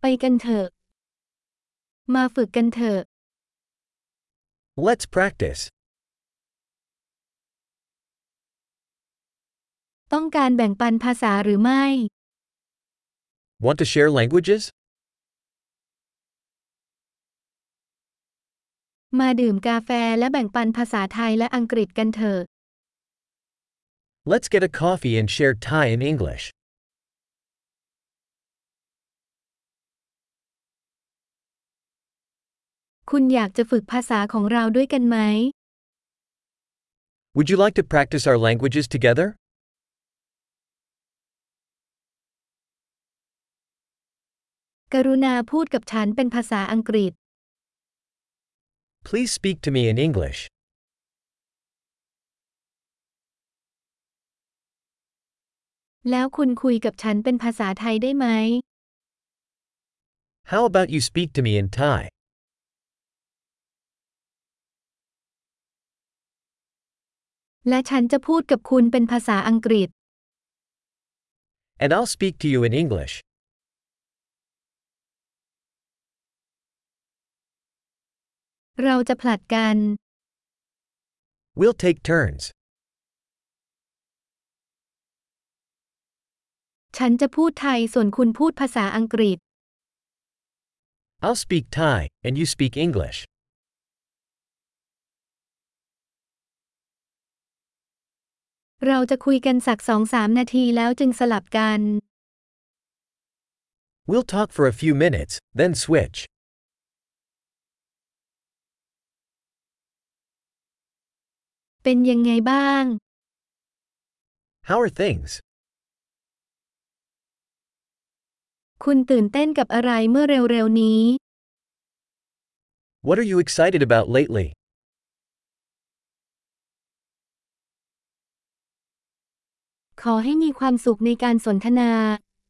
กันเถอะมาฝึกกันเถอะ Let's practice. ต้องการแบ่งปันภาษาหรือไม่ Want to share languages? มาดื่มกาแฟและแบ่งปันภาษาไทยและอังกฤษกันเถอะ Let's get a coffee and share Thai and English. คุณอยากจะฝึกภาษาของเราด้วยกันไหม Would you like to practice our languages together? กรุณาพูดกับฉันเป็นภาษาอังกฤษ Please speak to me in English. แล้วคุณคุยกับฉันเป็นภาษาไทยได้ไหม How about you speak to me in Thai? และฉันจะพูดกับคุณเป็นภาษาอังกฤษ And I'll speak to you in English. เราจะผลัดกัน We'll take turns. ฉันจะพูดไทยส่วนคุณพูดภาษาอังกฤษ I'll speak Thai, and you speak English. เราจะคุยกันสัก 2-3 นาทีแล้วจึงสลับกัน We'll talk for a few minutes, then switch. เป็นยังไงบ้าง How are things? คุณตื่นเต้นกับอะไรเมื่อเร็วๆนี้ What are you excited about lately? ขอให้มีความสุขในการสนทนา